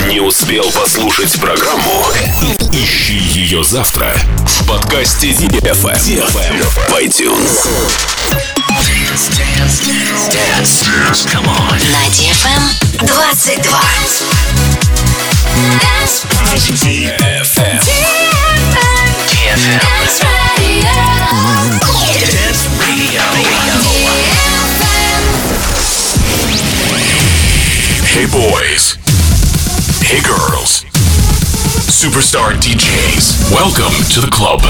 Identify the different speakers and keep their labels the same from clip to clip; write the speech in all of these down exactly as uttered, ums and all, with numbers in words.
Speaker 1: Не успел послушать программу? Ищи ее завтра в подкасте ди эф эм в iTunes.
Speaker 2: Dance, dance, dance, dance, come on. На ди эф эм двадцать два. Dance
Speaker 1: ди эф эм.
Speaker 2: ди эф эм. Dance Radio. Dance Radio.
Speaker 1: Hey boys. Hey girls. Superstar ди джейс. Welcome to the club.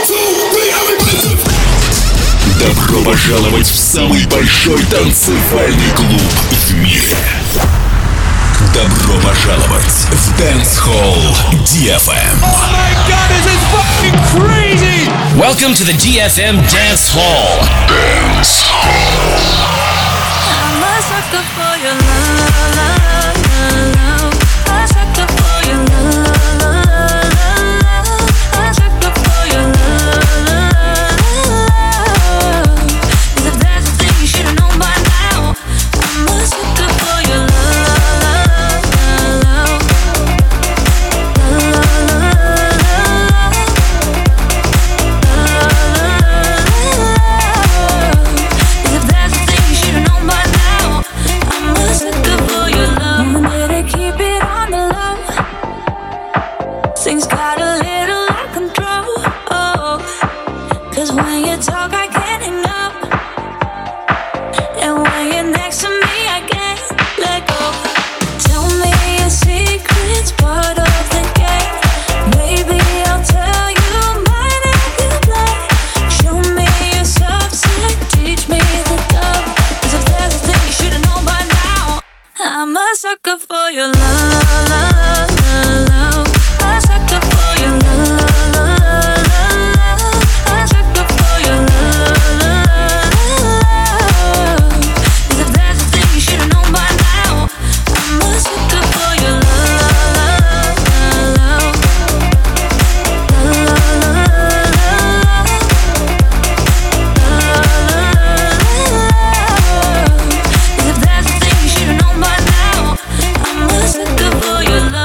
Speaker 1: Добро пожаловать в самый большой танцевальный клуб в мире. Добро пожаловать в Dance Hall ди эф эм.
Speaker 3: Oh my god, this is fucking crazy!
Speaker 4: Welcome to the ди эф эм Dance Hall.
Speaker 1: Dance Hall.
Speaker 5: I'm a sucker for your love, love, love. A sucker for your love, love, love. A sucker for your love, love. If there's a thing you should've known by now, I'm a sucker for your love, love, If there's a thing you should've known by now, I'm a sucker for your love. Better keep it on the low. Things got a little out of control. Oh, 'cause when you talk, I can't hang up. And when you're next to me, I can't let go. Tell me your secrets, part of the game. Maybe I'll tell you mine if you play. Show me your subset, teach me the love. 'Cause if there's a thing you should've known by now, I'm a sucker for your love, love, love. A sucker for your love, love, love. A sucker for your love, love. 'Cause if there's a thing you should've known by now, I'm a sucker for your love, love, If there's a thing you should've known by now, I'm a sucker for your love.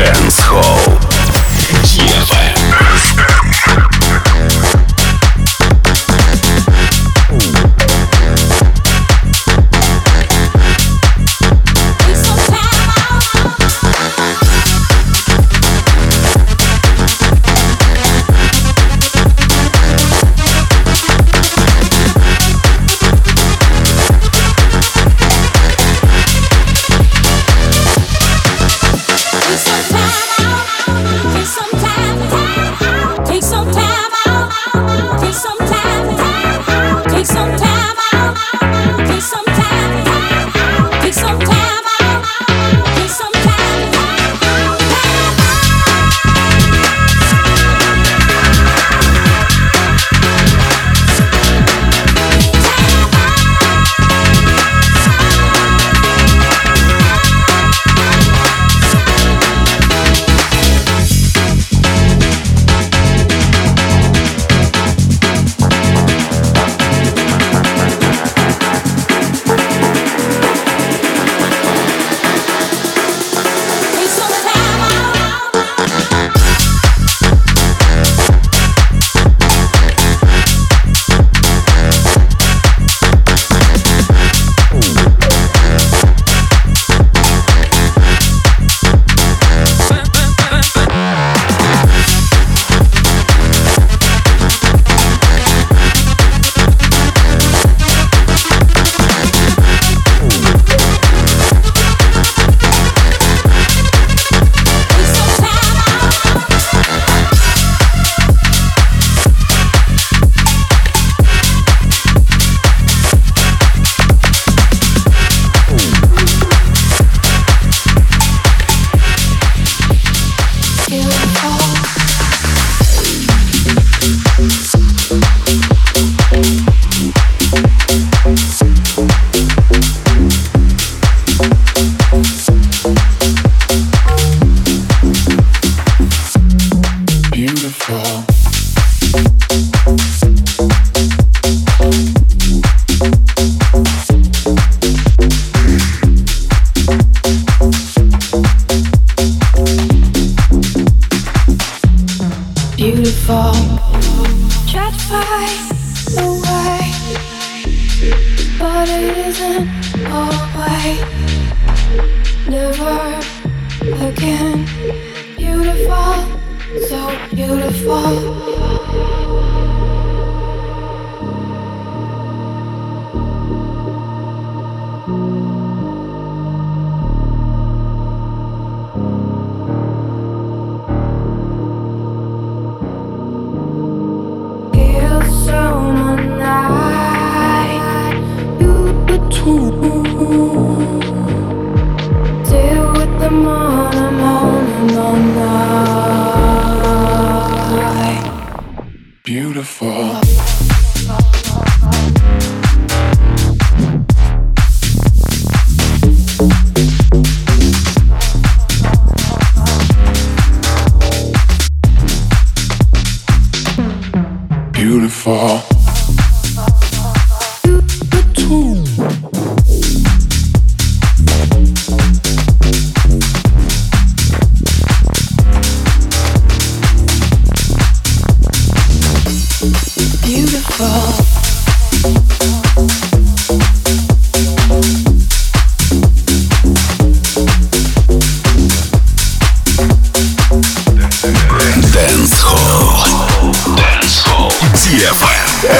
Speaker 1: Dance Hall ди эф эм.
Speaker 6: Beautiful.
Speaker 1: Dance Hall. Dance Hall ди эф эм.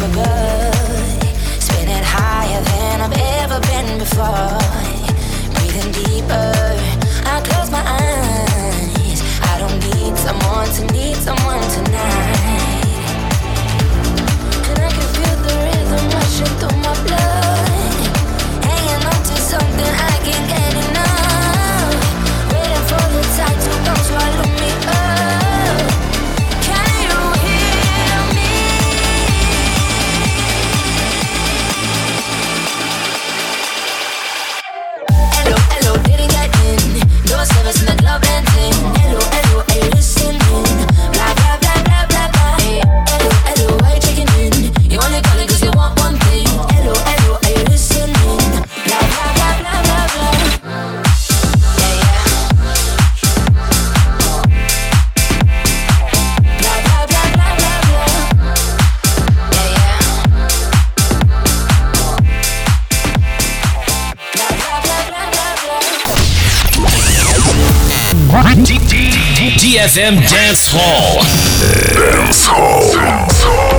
Speaker 4: ди эф эм Dance Hall.
Speaker 1: Dance Hall. Dance Hall.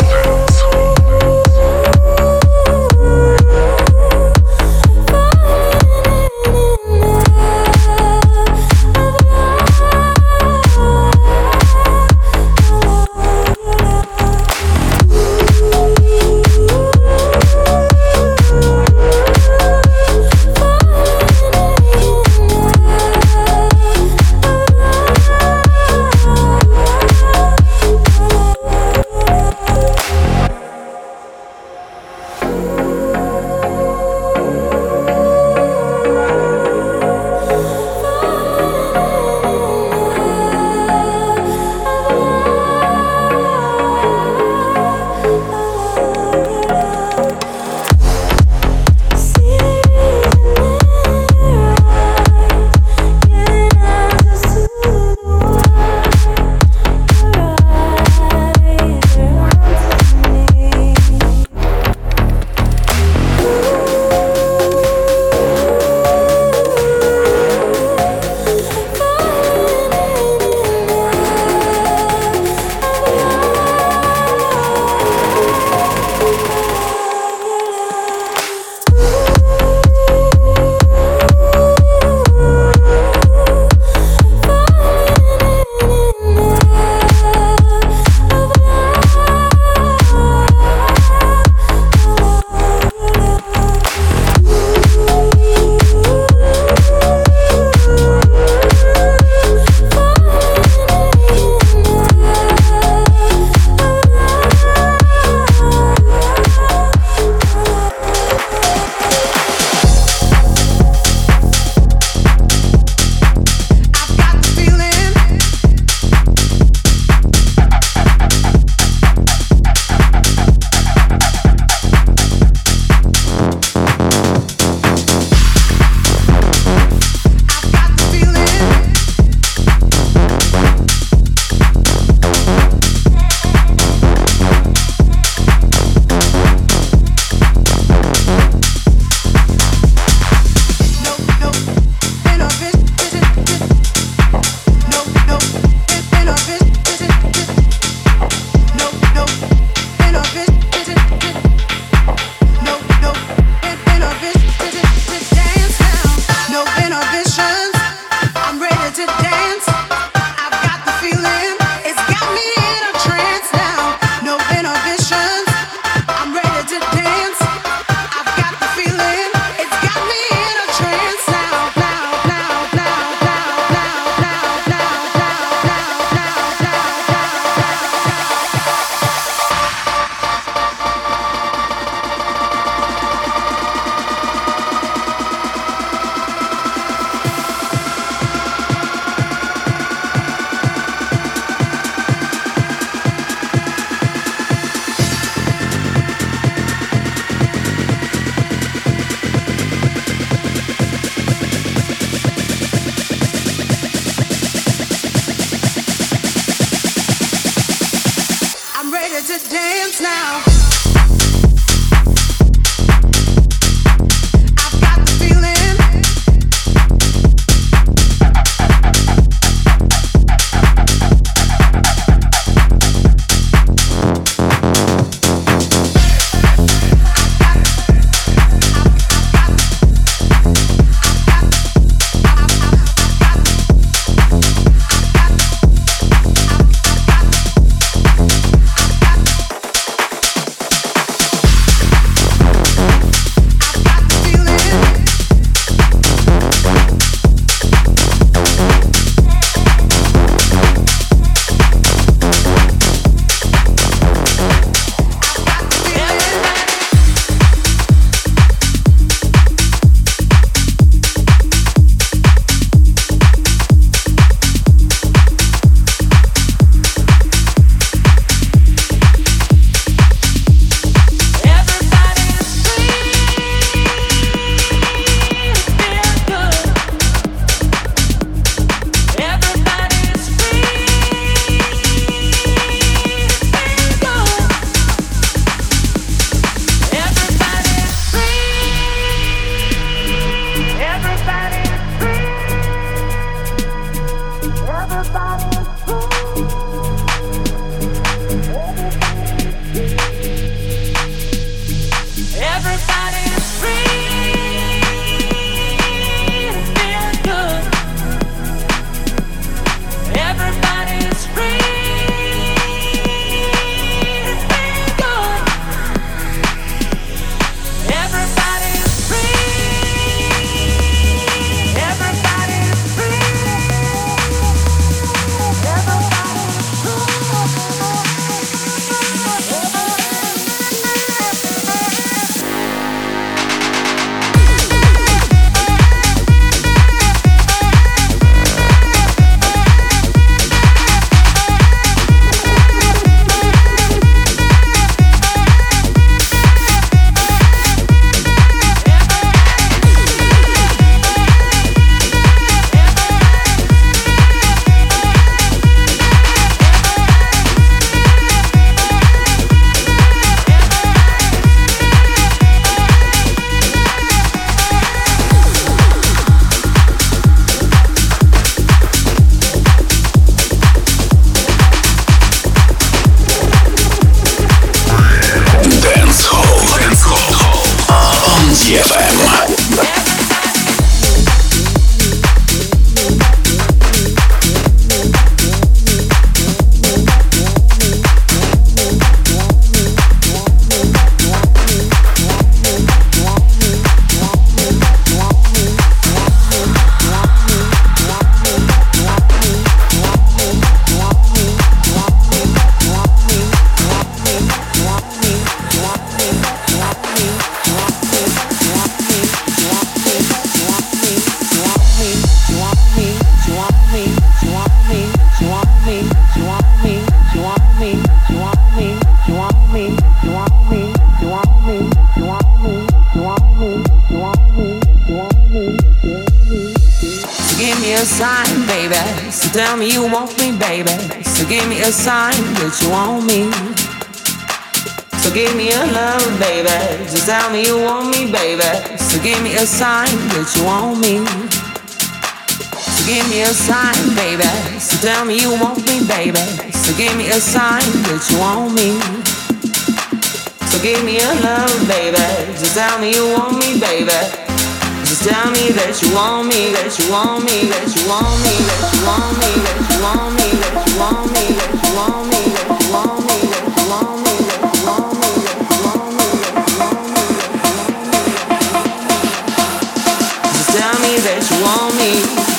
Speaker 6: sign, baby. So tell me you want me, baby. So give me a sign that you want me. So give me a love, baby. Just tell me you want me, baby. So give me a sign that you want me. So give me a sign, baby. So tell me you want me, baby. So give me a sign that you want me. So give me a love, baby. Just tell me you want me, baby. Just tell me that you want me, that you want me, that you want me, that you want me, that you want me, that you want me, that you want me, that you want me, that you want me, that you want me, that you want me, that you want me, that you want me. Just tell me that you want me.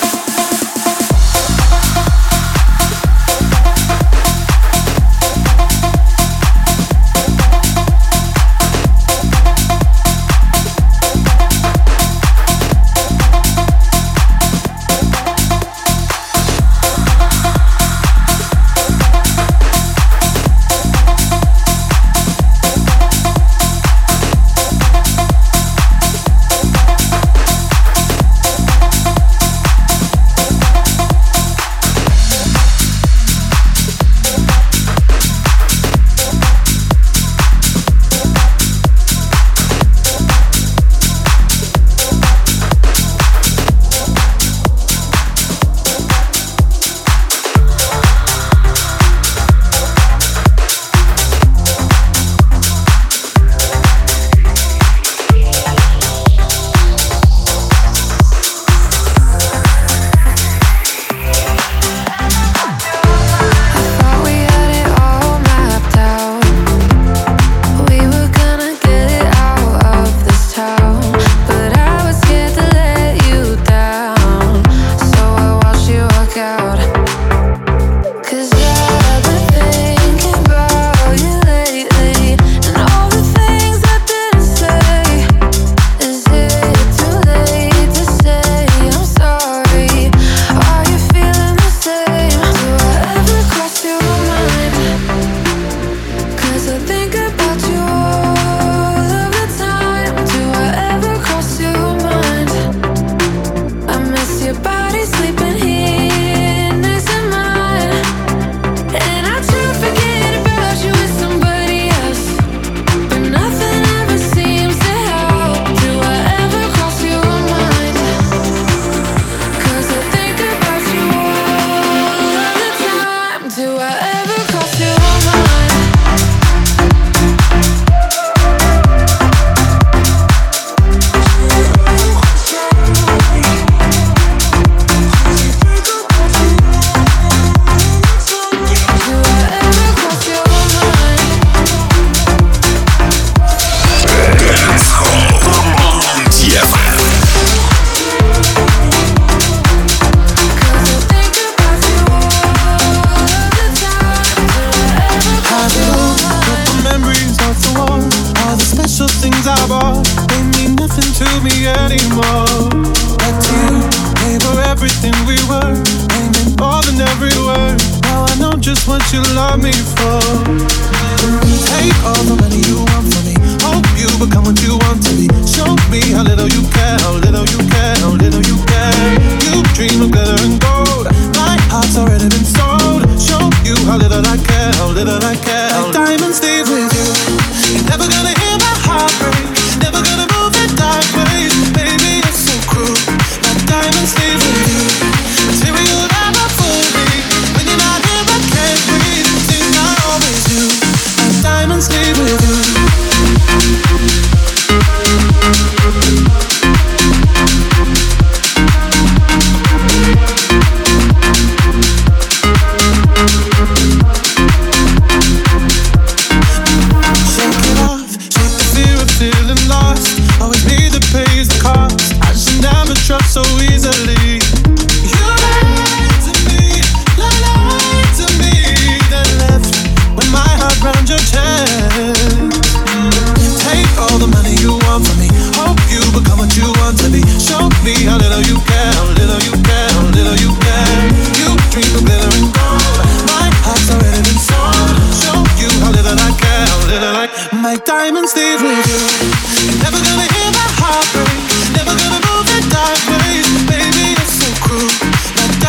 Speaker 7: Diamonds leave with you. You're never gonna hear my heart break. Never gonna move in dark ways. Baby, you're so cruel. My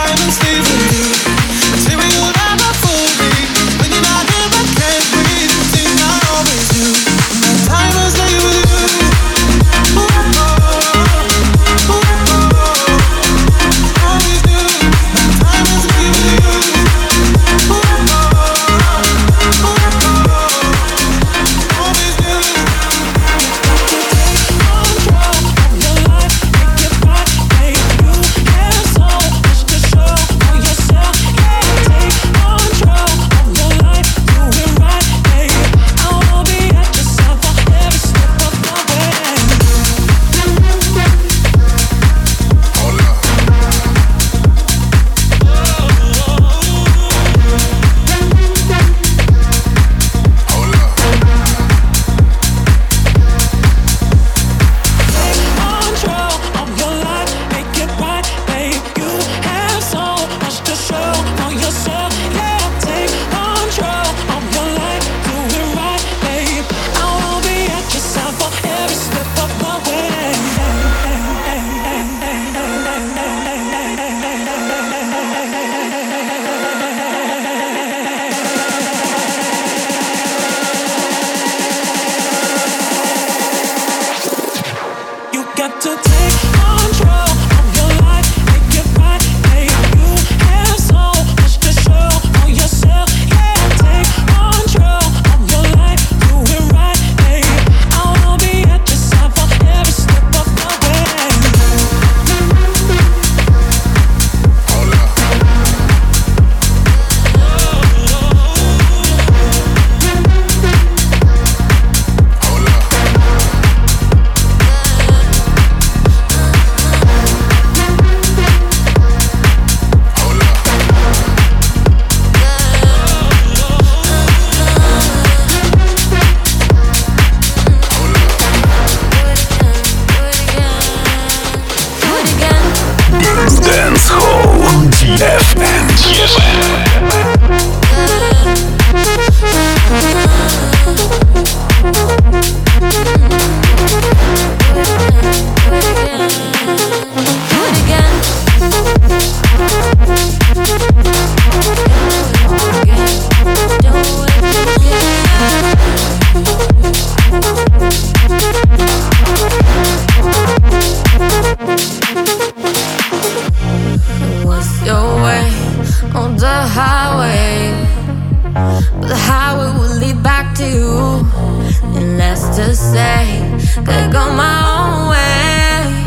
Speaker 5: could go my own way.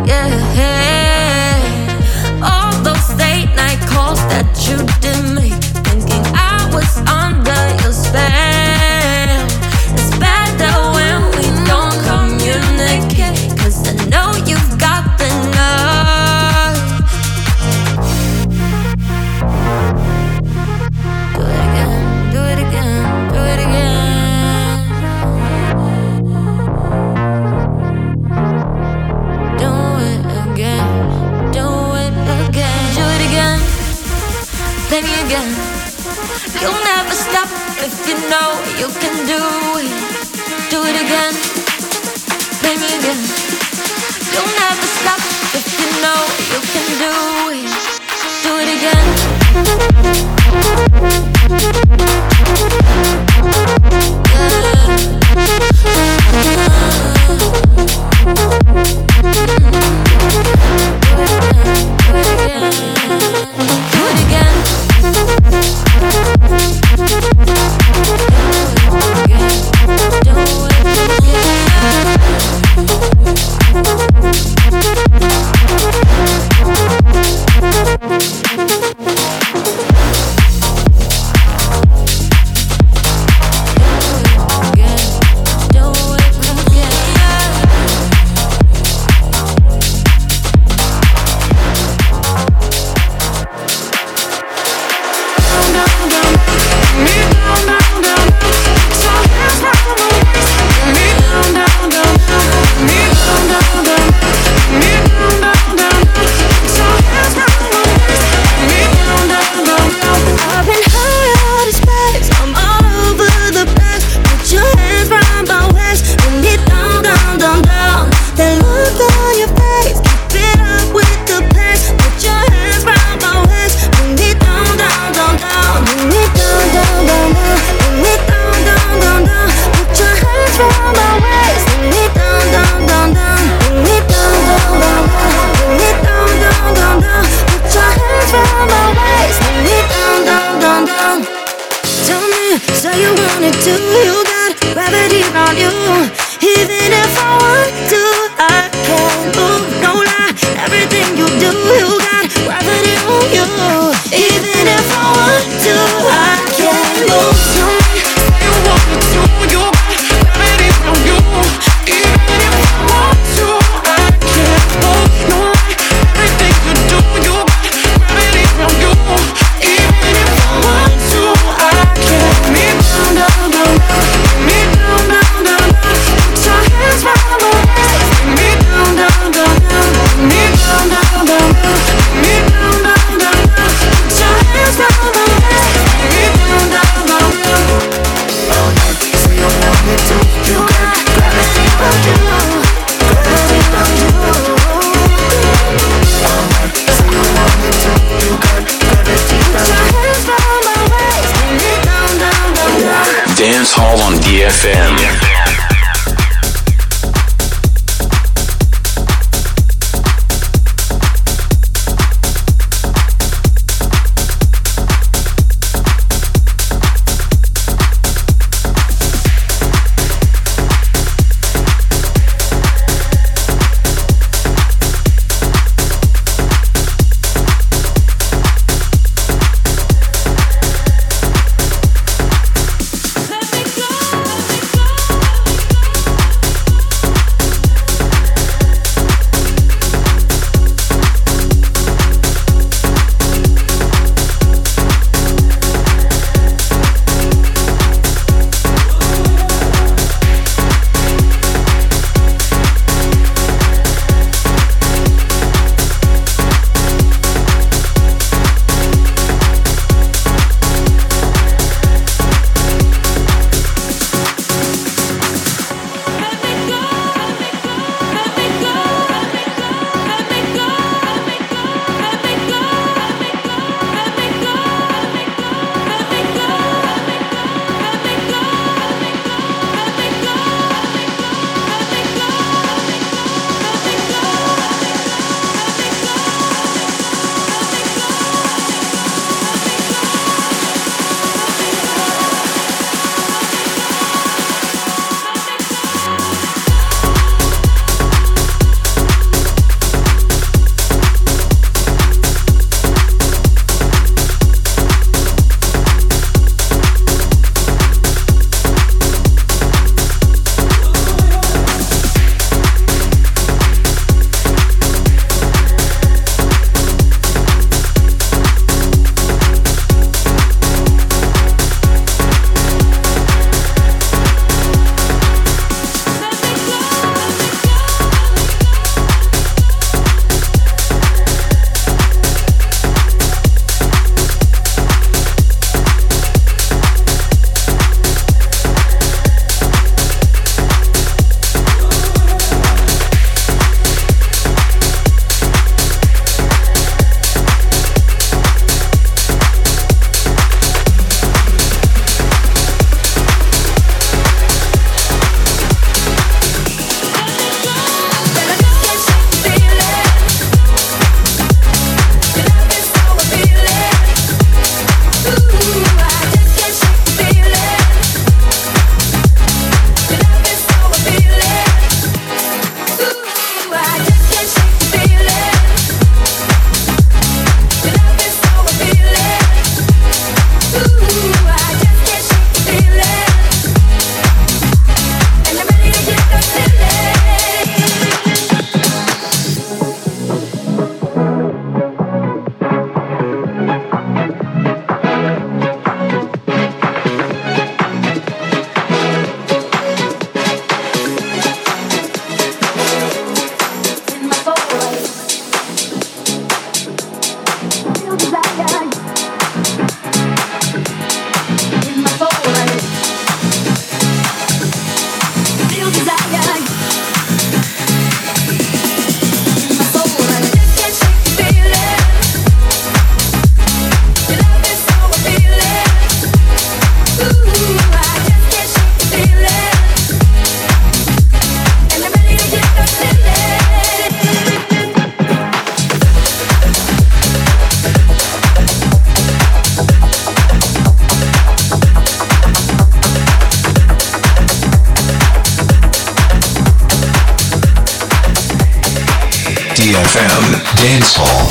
Speaker 5: Yeah, all those late night calls that you did me, thinking I was under your spell. It's better when we don't communicate, 'cause I know you've got the nerve. Do it again, do it again, do it again. Do it again, do it again, do it again. Play me again. You'll never stop if you know you can do it. Do it again. Play me again. You'll never stop if you know you can do it. Do it again.
Speaker 1: Dance Hall on D F M.
Speaker 5: Let me go, let me go.
Speaker 1: ди эф эм Dance Hall.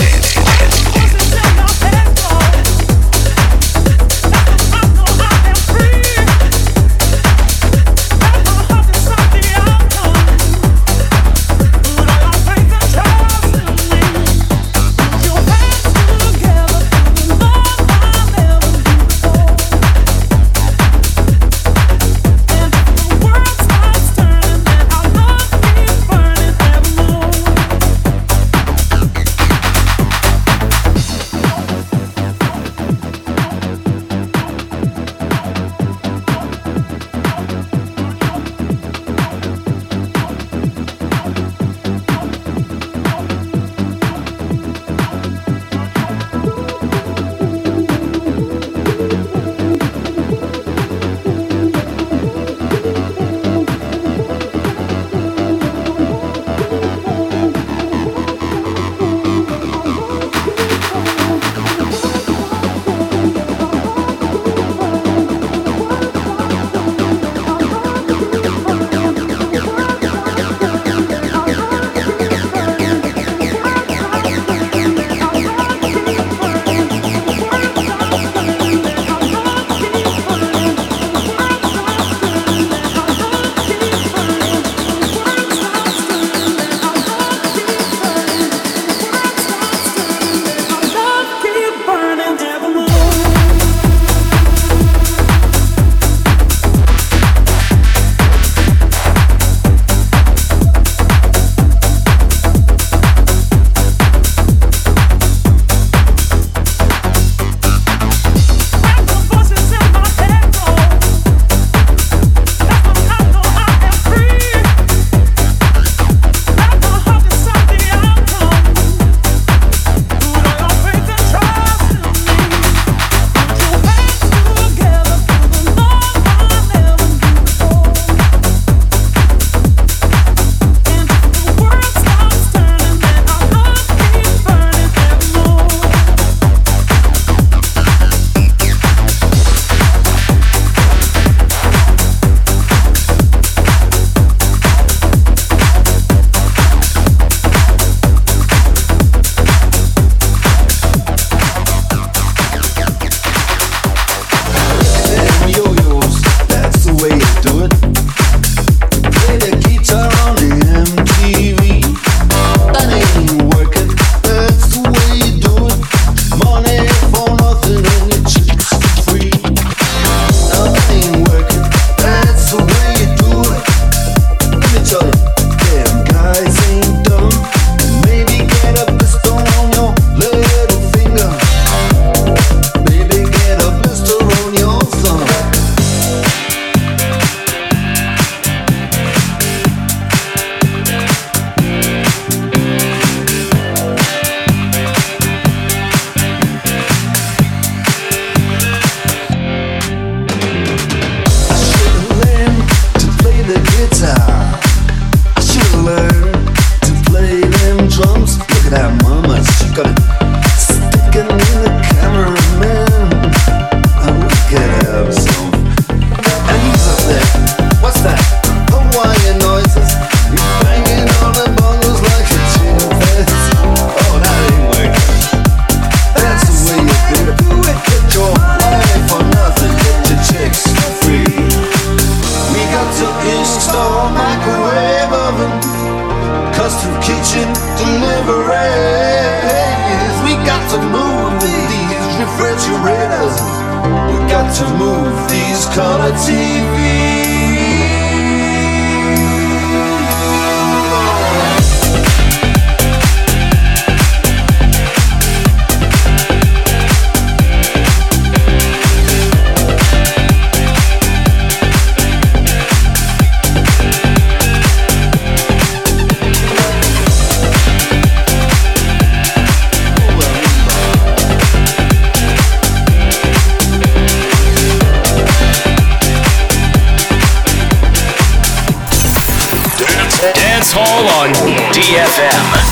Speaker 4: Dance Hall on D F M.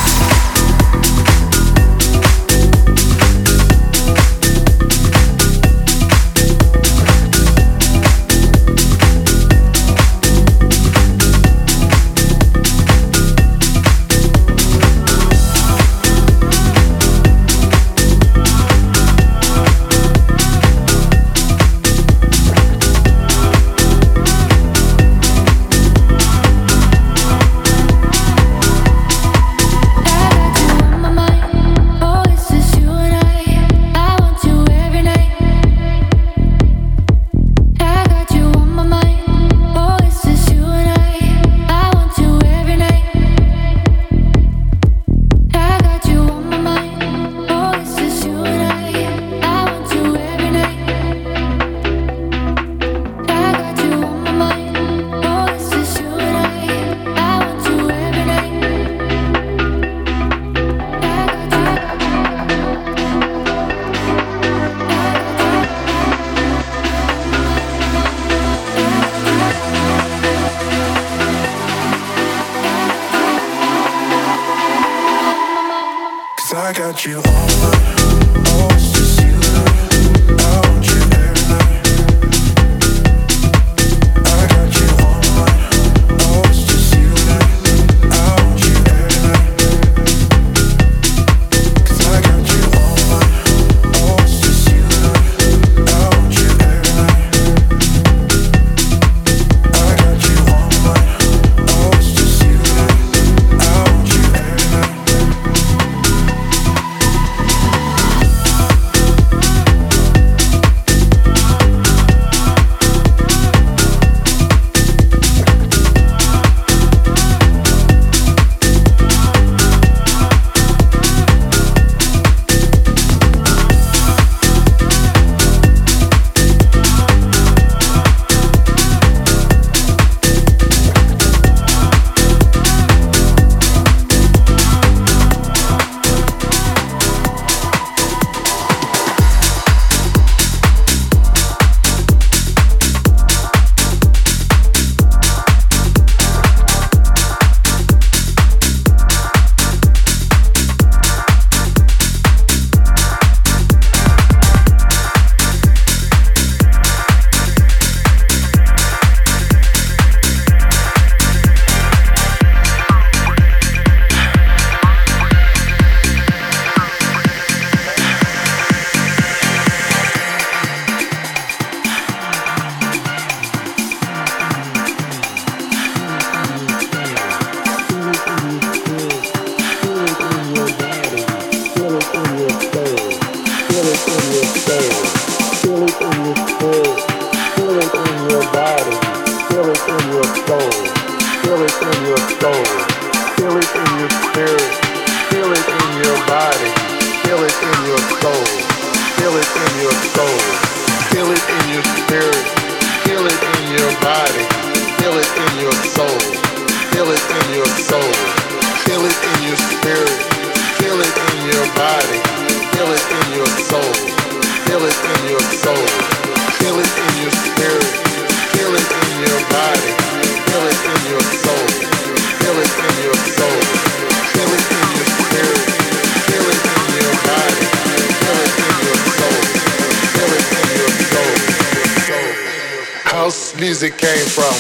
Speaker 8: Music came from.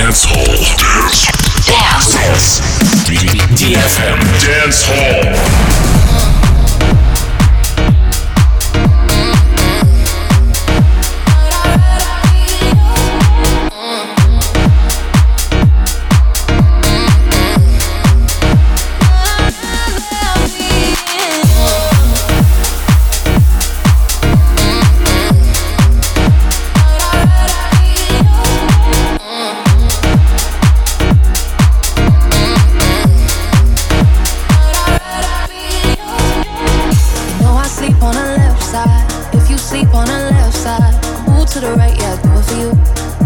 Speaker 1: Dance Hall. Dance. Dance. ди эф эм Dance Hall.
Speaker 5: To the right, yeah, I do it for you.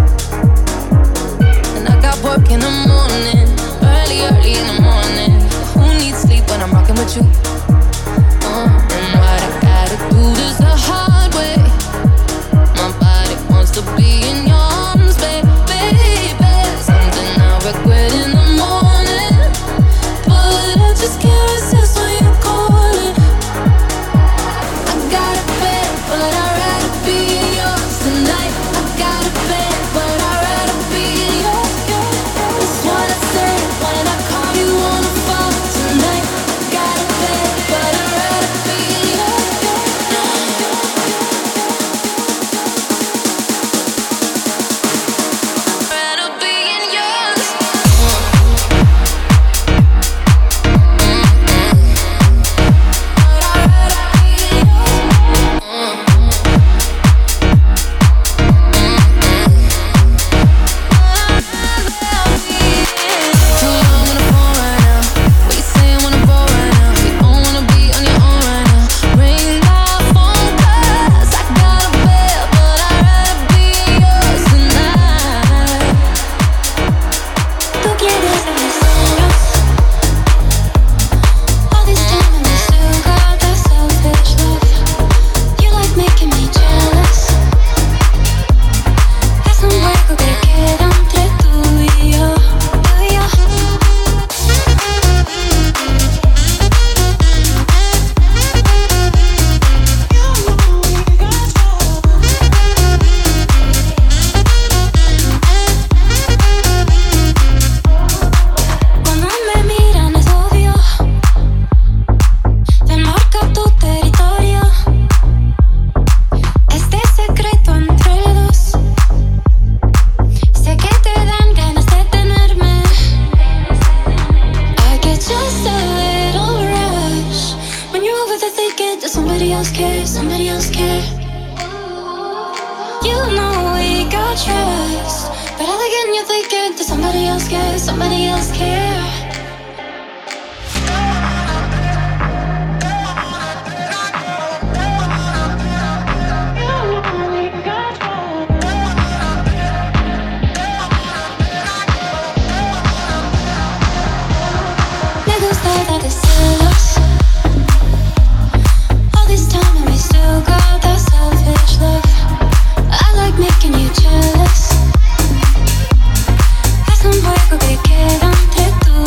Speaker 5: And I got work in the morning, early, early in the morning. Who needs sleep when I'm rocking with you? Uh, and what I gotta do this the hard way. My body wants to be in your arms, baby, baby. Something I regret in the morning, but I just can't resist when you're calling. I got a bed, but I'd rather be yours tonight. I got a bed, but I'd rather be yours. That's what I say when I call you on the phone tonight. I got a bed, but I'd rather be yours. Rather be in yours.
Speaker 8: Making you jealous. Haz un juego que queda entre tú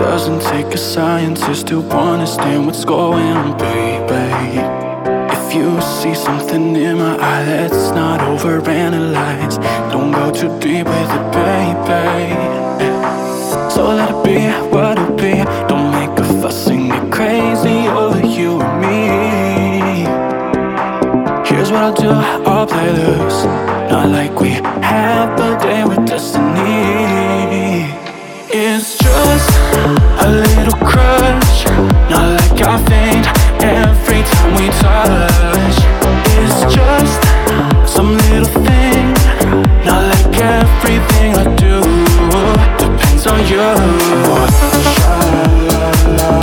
Speaker 8: Doesn't take a scientist to understand what's going on, baby. If you see something in my eye, let's not overanalyze. Don't go too deep with it, baby. So let it be what it be. Don't make a fuss and get crazy over you and me. Here's what I'll do, I'll play loose. Not like we have a day with destiny. It's just a little crush. Not like I faint every time we touch. It's just some little thing. Not like everything I do depends on you. Sha-la-la-la.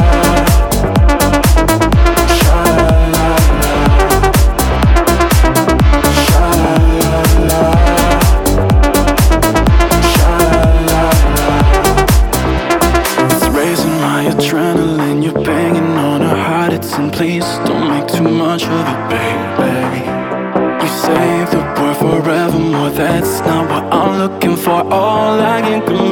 Speaker 8: Adrenaline, you're banging on her heart, it's in. Please don't make too much of it, baby. You say the word forevermore, that's not what I'm looking for. All I can do